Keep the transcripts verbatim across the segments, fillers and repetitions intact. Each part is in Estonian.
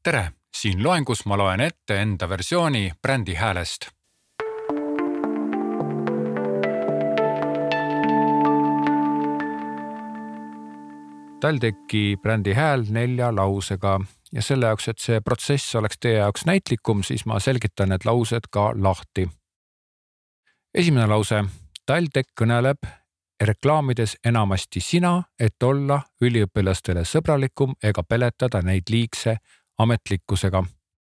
Tere! Siin loengus ma loen ette enda versiooni brändi häälest. TalTechi brändi hääl nelja lausega ja selle jaoks, et see protsess oleks teie jaoks näitlikum, siis ma selgitan need laused ka lahti. Esimene lause. TalTech kõneleb reklaamides enamasti sina, et olla üliõpilastele sõbralikum ega peletada neid liigse ametlikkusega.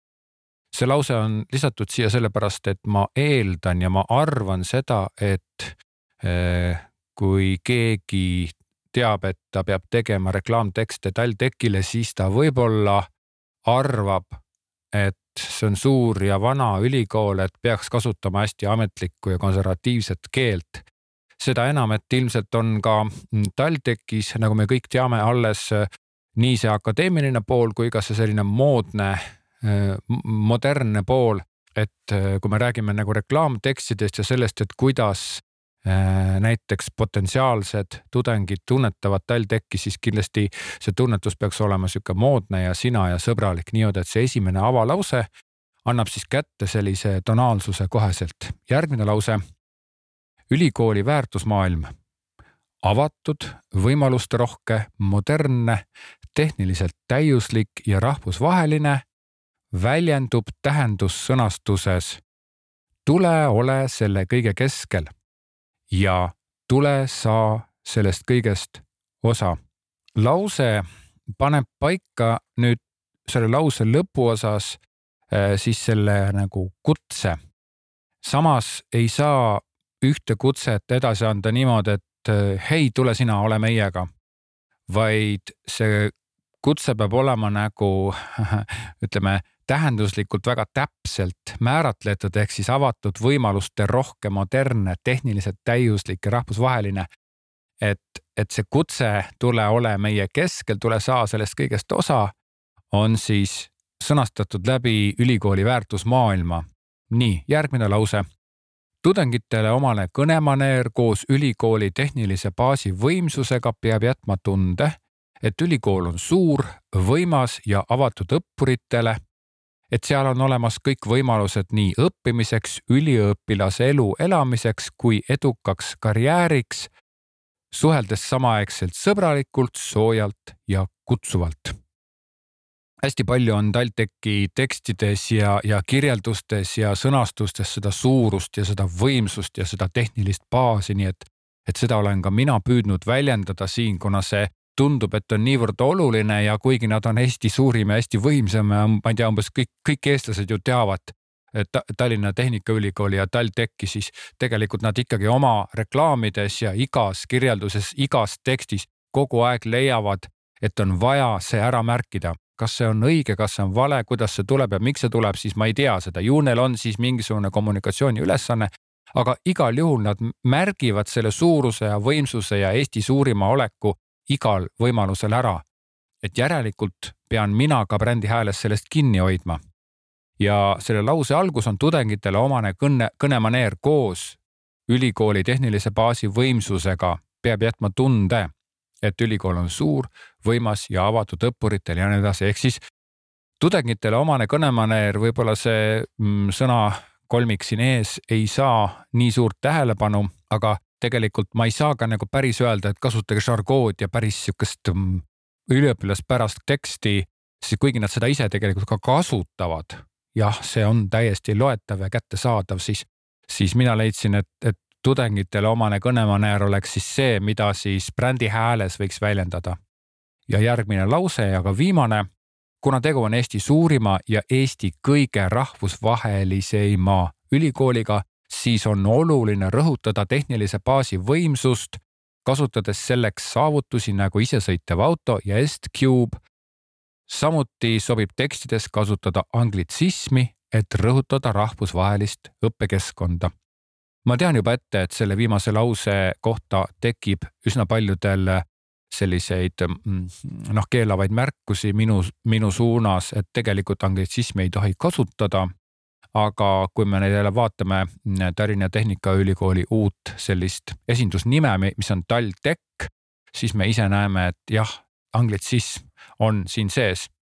See lause on lisatud siia sellepärast, et ma eeldan ja ma arvan seda, et eh, kui keegi teab, et ta peab tegema reklaamtekste TalTechile, siis ta võib-olla arvab, et see on suur ja vana ülikool, et peaks kasutama hästi ametlikku ja konservatiivset keelt. Seda enam, et ilmselt on ka TalTechis, nagu me kõik teame, alles nii see akadeemiline pool kui ka see selline moodne, modernne pool, et kui me räägime nagu reklaamtekstidest ja sellest, et kuidas näiteks potentsiaalsed tudengid tunnetavad TalTechi, siis kindlasti see tunnetus peaks olema siuke moodne ja sina ja sõbralik, nii et see esimene avalause annab siis kätte sellise tonaalsuse koheselt. Järgmine lause. Ülikooli väärtusmaailm. Avatud, võimaluste rohke, modernne, tehniliselt täiuslik ja rahvusvaheline, väljendub tähendussõnastuses. Tule ole selle kõige keskel ja tule saa sellest kõigest osa. Lause paneb paika nüüd selle lause lõpuosas siis selle nagu kutse. Samas ei saa ühte kutset edasi anda niimoodi, et hei, tule sina, ole meiega, vaid see kutse peab olema nagu, ütleme, tähenduslikult väga täpselt määratletud, ehk siis avatud võimaluste rohke, modernne, tehniliselt täiuslik ja rahvusvaheline, et, et see kutse tule ole meie keskel, tule saa sellest kõigest osa, on siis sõnastatud läbi ülikooli väärtusmaailma. Nii, järgmine lause. Tudengitele omane kõnemaneer koos ülikooli tehnilise baasi võimsusega peab jätma tunde, et ülikool on suur, võimas ja avatud õppuritele, et seal on olemas kõik võimalused nii õppimiseks, üliõpilase elu elamiseks kui edukaks karjääriks, suheldes samaaegselt sõbralikult, soojalt ja kutsuvalt. Hästi palju on TalTechi tekstides ja, ja kirjeldustes ja sõnastustes seda suurust ja seda võimsust ja seda tehnilist baasi, nii et, et seda olen ka mina püüdnud väljendada siin, kuna see tundub, et on niivõrd oluline ja kuigi nad on hästi suurim ja hästi võimsam ja ma ei tea, umbes kõik, kõik eestlased ju teavad et Tallinna Tehnikaülikooli ja TalTechi, siis tegelikult nad ikkagi oma reklaamides ja igas kirjelduses, igas tekstis kogu aeg leiavad, et on vaja see ära märkida. Kas see on õige, kas see on vale, kuidas see tuleb ja miks see tuleb, siis ma ei tea seda. Ju neil on siis mingisugune kommunikatsiooni ülesanne, aga igal juhul nad märgivad selle suuruse ja võimsuse ja Eesti suurima oleku igal võimalusel ära. Et järelikult pean mina ka brändi hääles sellest kinni hoidma. Ja selle lause algus on tudengitele omane kõne, kõnemaneer koos ülikooli tehnilise baasi võimsusega peab jätma tunde, et ülikool on suur, võimas ja avatud õppuritel ja nii edasi. Ehk siis tudengitele omane kõnemaneer, võib-olla see mm, sõna kolmik siin ees ei saa nii suurt tähelepanu, aga tegelikult ma ei saa ka nagu päris öelda, et kasutage žargood ja päris sükest mm, üliõpilaspärast teksti, siis kuigi nad seda ise tegelikult ka kasutavad, jah, see on täiesti loetav ja kättesaadav, siis, siis mina leidsin, et, et tudengitele omane kõnemaneer oleks siis see, mida siis brändi hääles võiks väljendada. Ja järgmine lause ja ka viimane, kuna tegu on Eesti suurima ja Eesti kõige rahvusvaheliseima ülikooliga, siis on oluline rõhutada tehnilise baasi võimsust, kasutades selleks saavutusi nagu isesõitev auto ja S-Cube. Samuti sobib tekstides kasutada anglitsismi, et rõhutada rahvusvahelist õppekeskkonda. Ma tean juba ette, et selle viimase lause kohta tekib üsna paljudel selliseid noh, keelavaid märkusi minu, minu suunas, et tegelikult anglitsismi ei tohi kasutada, aga kui me neile vaatame Tallinna Tehnikaülikooli uut sellist esindusnime, mis on TalTech, siis me ise näeme, et jah, anglitsism on siin sees.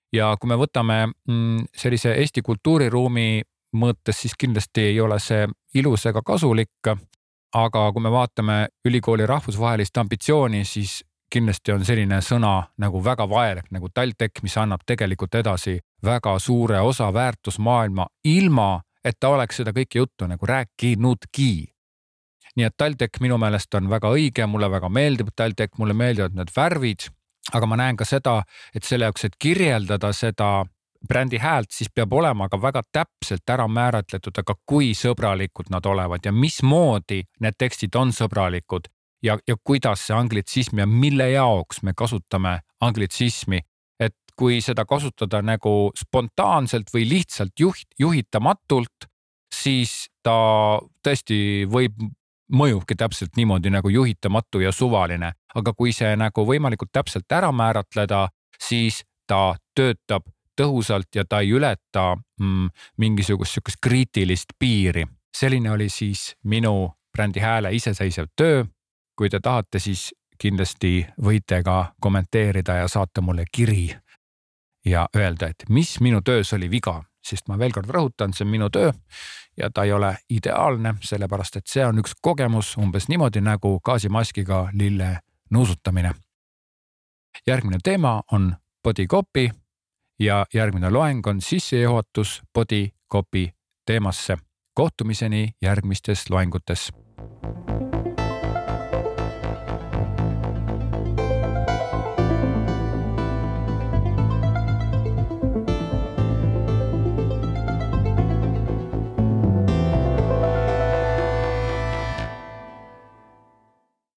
Ja kui me võtame sellise Eesti kultuuriruumi mõõtes, siis kindlasti ei ole see ilus ega kasulik, aga kui me vaatame ülikooli rahvusvahelist ambitsiooni, siis kindlasti on selline sõna nagu väga vajalik, nagu TalTech, mis annab tegelikult edasi väga suure osa väärtusmaailma ilma, et ta oleks seda kõike juttu nagu rääkinudki. Nii et TalTech minu meelest on väga õige, mulle väga meeldib TalTech, mulle meeldivad need värvid, aga ma näen ka seda, et selle jaoks, et kirjeldada seda brändi häält, siis peab olema ka väga täpselt ära määratletud, aga kui sõbralikud nad olevad ja mismoodi need tekstid on sõbralikud ja, ja kuidas see anglitsism ja mille jaoks me kasutame anglitsismi. Et kui seda kasutada nagu spontaanselt või lihtsalt juht, juhitamatult, siis ta tõesti võib mõjubki täpselt niimoodi nagu juhitamatu ja suvaline. Aga kui see nagu võimalikult täpselt ära määratleda, siis ta töötab tõhusalt ja ta ei ületa mm, mingisugust sükest kriitilist piiri. Selline oli siis minu brändi hääle iseseisev töö. Kui te tahate, siis kindlasti võite ka kommenteerida ja saata mulle kiri ja öelda, et mis minu töös oli viga, sest ma veel kord rõhutan, see on minu töö ja ta ei ole ideaalne, sellepärast et see on üks kogemus umbes niimoodi nagu gaasimaskiga lille nuusutamine. Järgmine teema on body copy ja järgmine loeng on sissejuhatus body copy teemasse. Kohtumiseni järgmistes loengutes.